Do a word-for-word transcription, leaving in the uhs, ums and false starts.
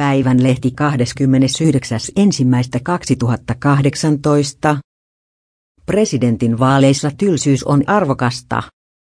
Päivän lehti kahdeskymmenesyhdeksäs ensimmäistä kaksituhattakahdeksantoista. Presidentin vaaleissa tylsyys on arvokasta.